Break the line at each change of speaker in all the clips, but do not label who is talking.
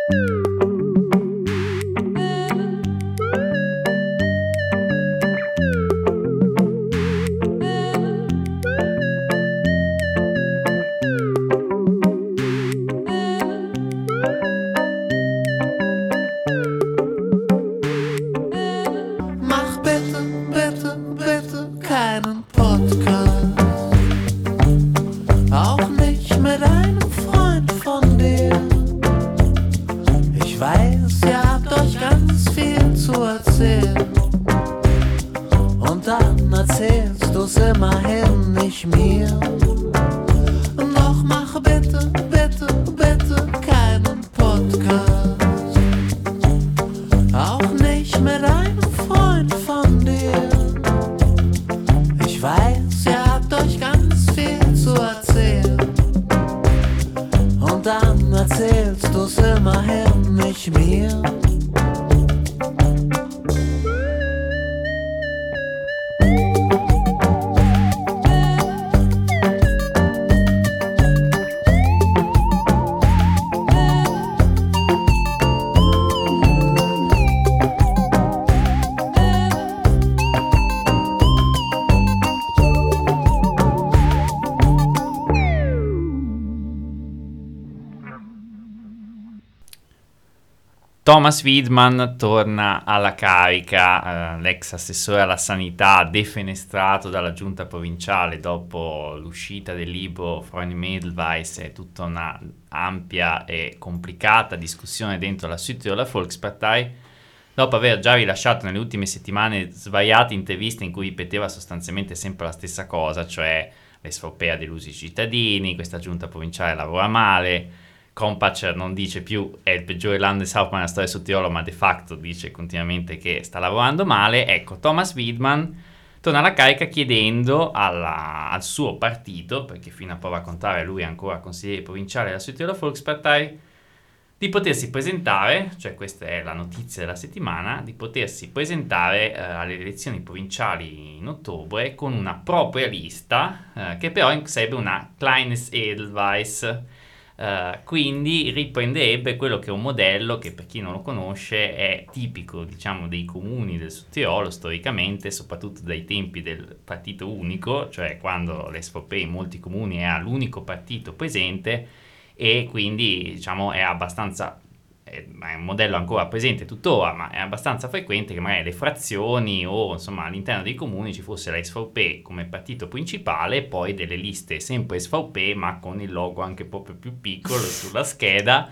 Thomas Widmann torna alla carica, l'ex assessore alla sanità defenestrato dalla giunta provinciale dopo l'uscita del libro Freunde-Mädelweiss e tutta una ampia e complicata discussione dentro la Südtiroler Volkspartei, dopo aver già rilasciato nelle ultime settimane svariate interviste in cui ripeteva sostanzialmente sempre la stessa cosa, cioè l'SVP ha deluso i cittadini, questa giunta provinciale lavora male, Kompatscher non dice più è il peggiore Landeshauptmann della storia del Sud Tirolo, ma de facto dice continuamente che sta lavorando male. Ecco, Thomas Widmann torna alla carica chiedendo al suo partito, perché fino a prova contraria lui è ancora consigliere provinciale della Sud Tirolo Volkspartei, di potersi presentare, cioè questa è la notizia della settimana, di potersi presentare alle elezioni provinciali in ottobre con una propria lista, che però sarebbe una Kleines Edelweiss. Quindi riprenderebbe quello che è un modello che, per chi non lo conosce, è tipico, diciamo, dei comuni del Sud Tirolo storicamente, soprattutto dai tempi del partito unico, cioè quando l'SVP in molti comuni era l'unico partito presente, e quindi, diciamo, è un modello ancora presente tuttora, ma è abbastanza frequente che magari le frazioni o insomma all'interno dei comuni ci fosse la SVP come partito principale e poi delle liste sempre SVP ma con il logo anche proprio più piccolo sulla scheda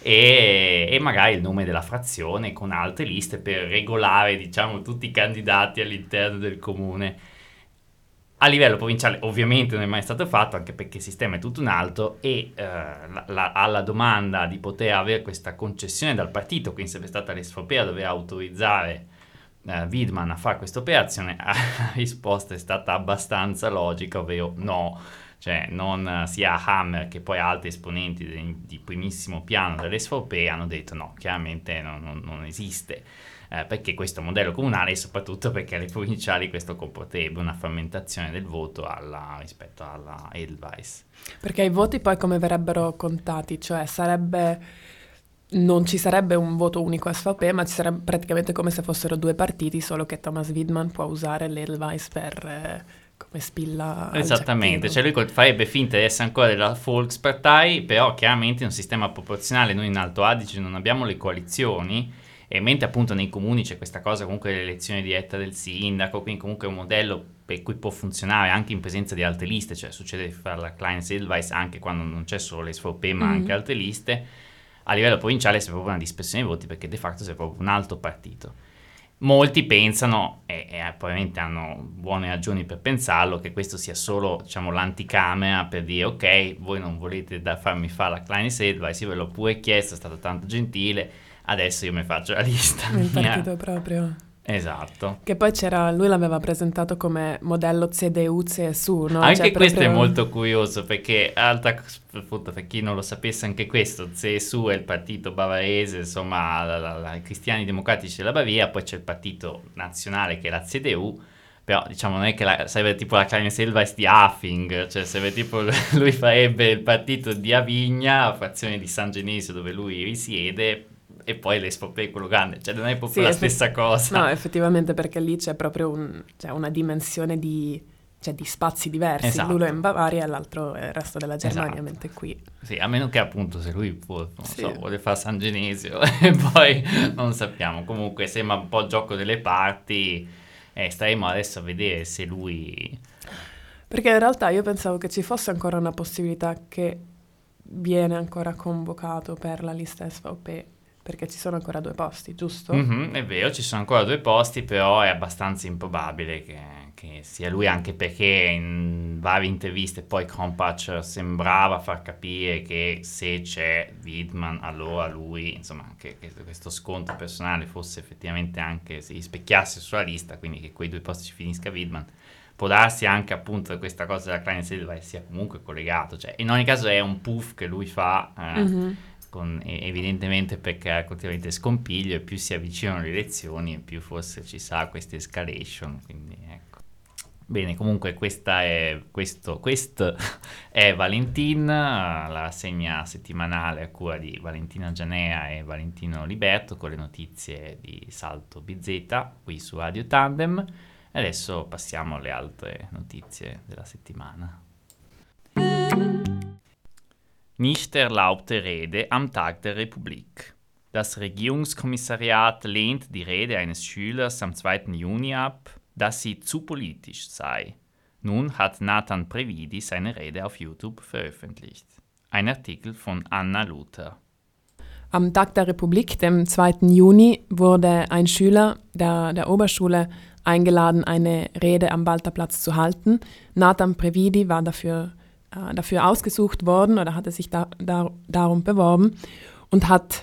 e magari il nome della frazione con altre liste per regolare, diciamo, tutti i candidati all'interno del comune. A livello provinciale ovviamente non è mai stato fatto, anche perché il sistema è tutto un altro, e alla domanda di poter avere questa concessione dal partito, quindi sarebbe stata l'SVP a dover autorizzare Widmann a fare questa operazione, la risposta è stata abbastanza logica, ovvero no, cioè non sia Hammer che poi altri esponenti di primissimo piano dell'SVP hanno detto no, chiaramente non esiste. Perché questo modello comunale e soprattutto perché alle provinciali questo comporterebbe una frammentazione del voto rispetto alla Edelweiss.
Perché i voti poi come verrebbero contati? Cioè non ci sarebbe un voto unico SVP, ma ci sarebbe praticamente come se fossero due partiti, solo che Thomas Widmann può usare l'Edelweiss come spilla.
Esattamente, cioè lui farebbe finta di essere ancora della Volkspartei, però chiaramente in un sistema proporzionale noi in Alto Adige non abbiamo le coalizioni, e mentre appunto nei comuni c'è questa cosa comunque dell'elezione diretta del sindaco, quindi comunque è un modello per cui può funzionare anche in presenza di altre liste, cioè succede di fare la Kleines Edelweiss anche quando non c'è solo l'SVP ma anche altre liste. A livello provinciale c'è proprio una dispersione dei voti perché de facto c'è proprio un altro partito. Molti pensano, e probabilmente hanno buone ragioni per pensarlo, che questo sia solo, diciamo, l'anticamera per dire ok, voi non volete farmi fare la Kleines Edelweiss, io ve l'ho pure chiesto, è stato tanto gentile, adesso io mi faccio la lista.
Il partito proprio.
Esatto.
Che poi lui l'aveva presentato come modello CDU-CSU, no?
Anche
cioè,
questo
proprio...
è molto curioso perché, appunto, per chi non lo sapesse, anche questo, CSU è il partito bavarese, insomma, i cristiani democratici della Baviera, poi c'è il partito nazionale che è la CDU, Però diciamo non è che sarebbe tipo la Kleine-Selweis di Hafing, cioè sarebbe tipo lui farebbe il partito di Avigna, frazione di San Genesio dove lui risiede, e poi l'Espopè quello grande, cioè non è proprio
Sì,
la stessa cosa.
no, effettivamente perché lì c'è proprio cioè una dimensione di spazi diversi. L'uno è in
Esatto,
Bavaria e l'altro è il resto della Germania,
esatto.
mentre qui...
Sì, a meno che appunto se lui non
Sì.
so, vuole fare San Genesio e poi non sappiamo. Comunque sembra un po' gioco delle parti e staremo adesso a vedere se lui...
Perché in realtà io pensavo che ci fosse ancora una possibilità che viene ancora convocato per la lista SVP, perché ci sono ancora 2 posti, giusto?
Mhm, è vero, ci sono ancora 2 posti, però è abbastanza improbabile che sia lui, anche perché in varie interviste poi Krompach sembrava far capire che se c'è Widman allora lui, insomma, che questo scontro personale fosse effettivamente anche, si rispecchiasse sulla lista, quindi che quei 2 posti ci finisca Widman. Può darsi anche appunto che questa cosa della Kleine-Selweis sia comunque collegato, cioè in ogni caso è un puff che lui fa
Mhm.
evidentemente per creare continuamente scompiglio, e più si avvicinano le elezioni e più forse ci sarà questa escalation, quindi ecco. Bene, comunque questo è Valentin, la rassegna settimanale a cura di Valentina Gianea e Valentino Liberto con le notizie di Salto BZ qui su Radio Tandem. E adesso passiamo alle altre notizie della settimana. Nicht erlaubte Rede am Tag der Republik. Das Regierungskommissariat lehnt die Rede eines Schülers am 2. Juni ab, dass sie zu politisch sei. Nun hat Nathan Previdi seine Rede auf YouTube veröffentlicht. Ein Artikel von Anna Luther.
Am Tag der Republik, dem 2. Juni, wurde ein Schüler der Oberschule eingeladen, eine Rede am Balterplatz zu halten. Nathan Previdi war dafür ausgesucht worden oder hatte sich darum beworben und hat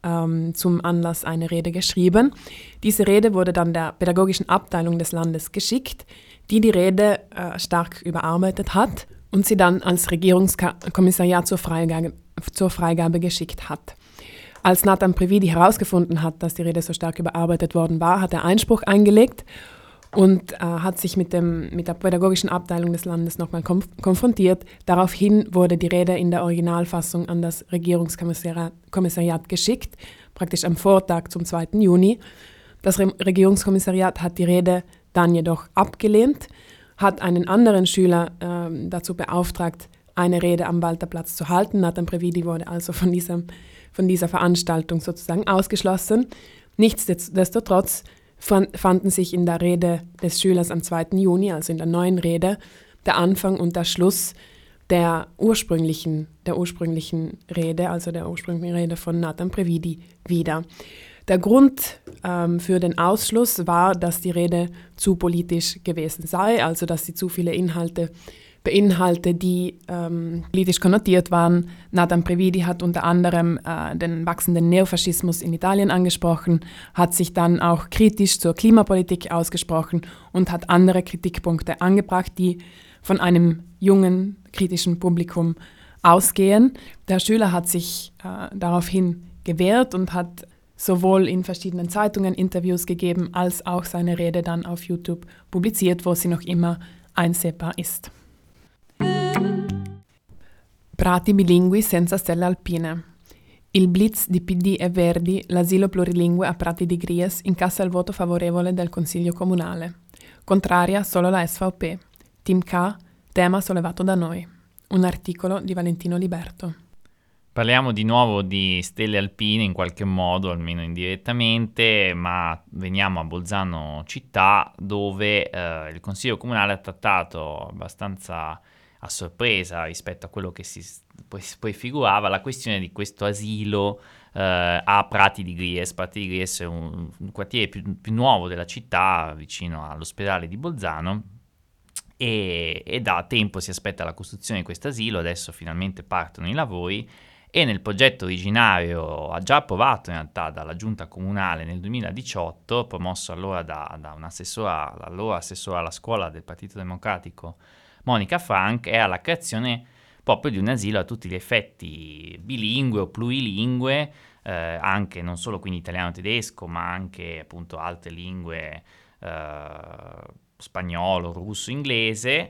zum Anlass eine Rede geschrieben. Diese Rede wurde dann der pädagogischen Abteilung des Landes geschickt, die Rede stark überarbeitet hat und sie dann als Regierungskommissariat zur Freigabe geschickt hat. Als Nathan Previdi herausgefunden hat, dass die Rede so stark überarbeitet worden war, hat er Einspruch eingelegt und hat sich mit der pädagogischen Abteilung des Landes nochmal konfrontiert. Daraufhin wurde die Rede in der Originalfassung an das Regierungskommissariat geschickt, praktisch am Vortag zum 2. Juni. Das Regierungskommissariat hat die Rede dann jedoch abgelehnt, hat einen anderen Schüler dazu beauftragt, eine Rede am Balterplatz zu halten. Nathan Previdi wurde also von dieser Veranstaltung sozusagen ausgeschlossen. Nichtsdestotrotz fanden sich in der Rede des Schülers am 2. Juni, also in der neuen Rede, der Anfang und der Schluss der ursprünglichen Rede, also der ursprünglichen Rede von Nathan Previdi wieder. Der Grund für den Ausschluss war, dass die Rede zu politisch gewesen sei, also dass sie zu viele Inhalte beinhaltet, die politisch konnotiert waren. Nathan Previdi hat unter anderem den wachsenden Neofaschismus in Italien angesprochen, hat sich dann auch kritisch zur Klimapolitik ausgesprochen und hat andere Kritikpunkte angebracht, die von einem jungen, kritischen Publikum ausgehen. Der Schüler hat sich daraufhin gewehrt und hat sowohl in verschiedenen Zeitungen Interviews gegeben, als auch seine Rede dann auf YouTube publiziert, wo sie noch immer einsehbar ist. Prati bilingui senza stelle alpine. Il blitz di PD e Verdi, l'asilo plurilingue a Prati di Gries, incassa il voto favorevole del Consiglio Comunale. Contraria solo la SVP. Team K, tema sollevato da noi. Un articolo di Valentino Liberto.
Parliamo di nuovo di stelle alpine in qualche modo, almeno indirettamente, ma veniamo a Bolzano città, dove il Consiglio Comunale ha trattato abbastanza a sorpresa rispetto a quello che poi figurava la questione di questo asilo a Prati di Gries. Prati di Gries è un quartiere più nuovo della città, vicino all'ospedale di Bolzano, e da tempo si aspetta la costruzione di questo asilo. Adesso finalmente partono i lavori, e nel progetto originario già approvato in realtà dalla giunta comunale nel 2018, promosso allora da allora assessora alla scuola del Partito Democratico Monica Frank, è alla creazione proprio di un asilo a tutti gli effetti bilingue o plurilingue, anche non solo quindi italiano-tedesco, ma anche appunto altre lingue spagnolo, russo, inglese.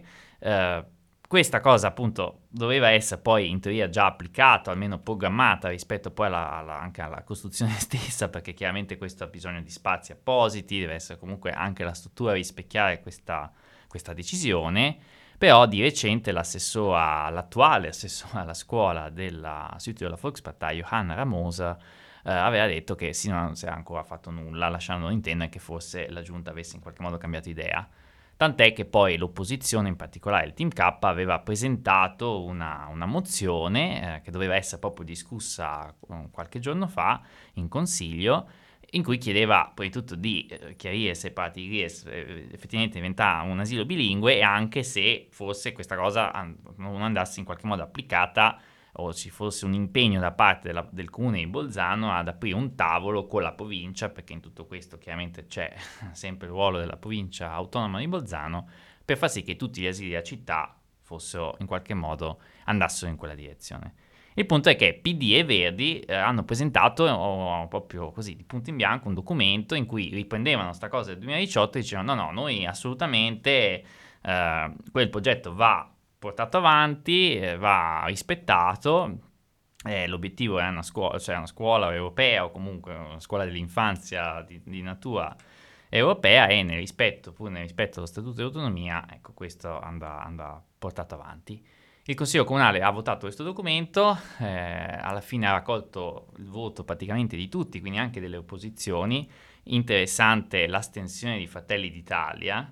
Questa cosa appunto doveva essere poi in teoria già applicata, almeno programmata rispetto poi anche alla costruzione stessa, perché chiaramente questo ha bisogno di spazi appositi, deve essere comunque anche la struttura a rispecchiare questa decisione. Però di recente l'attuale assessore alla scuola della Südtiroler Volkspartei, Johanna Ramoser, aveva detto che sì, non si era ancora fatto nulla, lasciando intendere che forse la giunta avesse in qualche modo cambiato idea. Tant'è che poi l'opposizione, in particolare il Team K, aveva presentato una mozione che doveva essere proprio discussa qualche giorno fa in Consiglio, in cui chiedeva prima di tutto di chiarire se Paratigris effettivamente diventava un asilo bilingue e anche se forse questa cosa non andasse in qualche modo applicata o ci fosse un impegno da parte del comune di Bolzano ad aprire un tavolo con la provincia, perché in tutto questo chiaramente c'è sempre il ruolo della provincia autonoma di Bolzano, per far sì che tutti gli asili della città fossero in qualche modo andassero in quella direzione. Il punto è che PD e Verdi hanno presentato proprio così di punto in bianco un documento in cui riprendevano sta cosa del 2018 e dicevano no, noi assolutamente quel progetto va portato avanti, va rispettato. L'obiettivo è una scuola europea o comunque una scuola dell'infanzia di natura europea e pur nel rispetto dello Statuto di Autonomia, ecco, questo andrà portato avanti. Il Consiglio Comunale ha votato questo documento, alla fine ha raccolto il voto praticamente di tutti, quindi anche delle opposizioni. Interessante l'astensione di Fratelli d'Italia,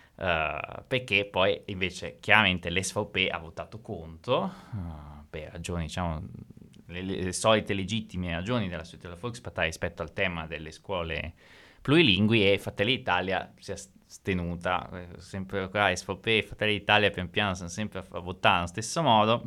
perché poi invece chiaramente l'SVP ha votato contro, per ragioni, diciamo, le solite legittime ragioni della Südtiroler Volkspartei rispetto al tema delle scuole plurilingui, e Fratelli d'Italia si è astenuta, sempre qua SVP e Fratelli d'Italia pian piano sono sempre a votare allo stesso modo,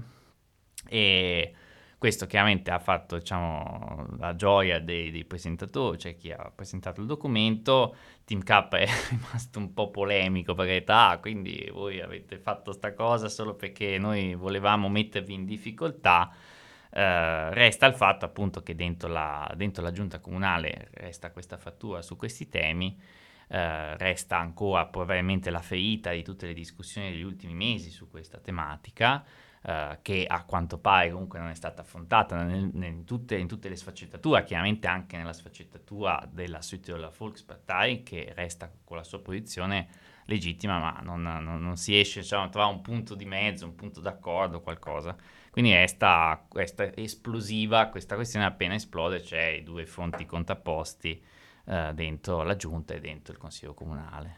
e questo chiaramente ha fatto, diciamo, la gioia dei presentatori, cioè chi ha presentato il documento. Team K è rimasto un po' polemico perché quindi voi avete fatto sta cosa solo perché noi volevamo mettervi in difficoltà. Resta il fatto appunto che dentro la giunta comunale resta questa frattura su questi temi. Resta ancora probabilmente la ferita di tutte le discussioni degli ultimi mesi su questa tematica, che a quanto pare comunque non è stata affrontata in tutte le sfaccettature, chiaramente anche nella sfaccettatura della Südtiroler Volkspartei, che resta con la sua posizione legittima, ma non si riesce, diciamo, a trovare un punto di mezzo, un punto d'accordo, qualcosa. Quindi resta esplosiva questa questione, appena esplode c'è i due fronti contrapposti dentro la giunta e dentro il consiglio comunale.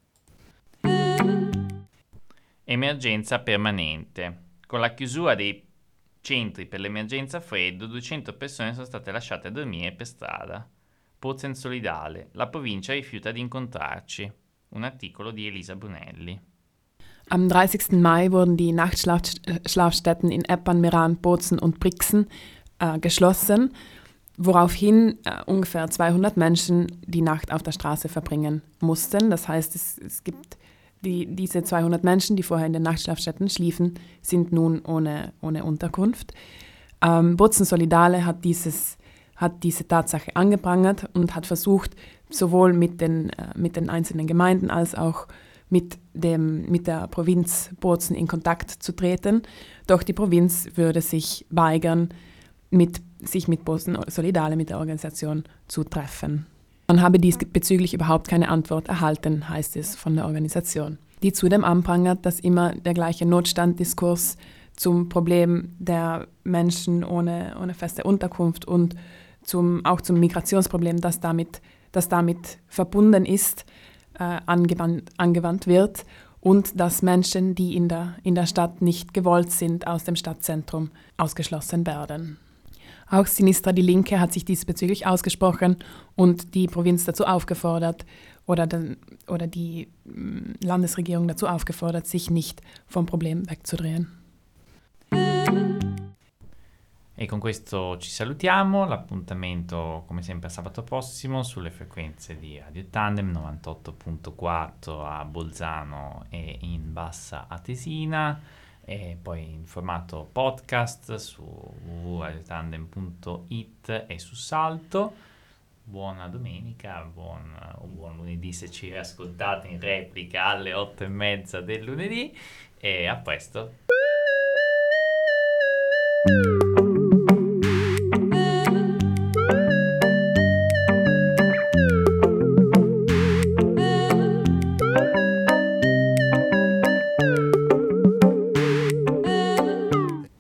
Emergenza permanente. Con la chiusura dei centri per l'emergenza freddo, 200 persone sono state lasciate a dormire per strada. Pozen solidale. La provincia rifiuta di incontrarci. Un articolo di Elisa Brunelli.
Am 30. Mai wurden die Nachtschlafstätten in Eppan, Meran, Bozen und Brixen geschlossen, woraufhin ungefähr 200 Menschen die Nacht auf der Straße verbringen mussten. Das heißt, es gibt diese 200 Menschen, die vorher in den Nachtschlafstätten schliefen, sind nun ohne Unterkunft. Bozen Solidale hat diese Tatsache angeprangert und hat versucht, sowohl mit den einzelnen Gemeinden als auch mit der Provinz Bozen in Kontakt zu treten. Doch die Provinz würde sich weigern, sich mit Bozen Solidale, mit der Organisation zu treffen. Man habe diesbezüglich überhaupt keine Antwort erhalten, heißt es von der Organisation, die zudem anprangert, dass immer der gleiche Notstanddiskurs zum Problem der Menschen ohne feste Unterkunft und auch zum Migrationsproblem, das damit verbunden ist, angewandt wird, und dass Menschen, die in der Stadt nicht gewollt sind, aus dem Stadtzentrum ausgeschlossen werden. Auch Sinistra Die Linke hat sich diesbezüglich ausgesprochen und die Provinz dazu aufgefordert oder die Landesregierung dazu aufgefordert, sich nicht vom Problem wegzudrehen.
E con questo ci salutiamo, l'appuntamento come sempre sabato prossimo sulle frequenze di Radio Tandem 98.4 a Bolzano e in Bassa Atesina, e poi in formato podcast su www.radiotandem.it e su Salto. buona domenica, un buon lunedì se ci ascoltate in replica alle 8:30 del lunedì, e a presto.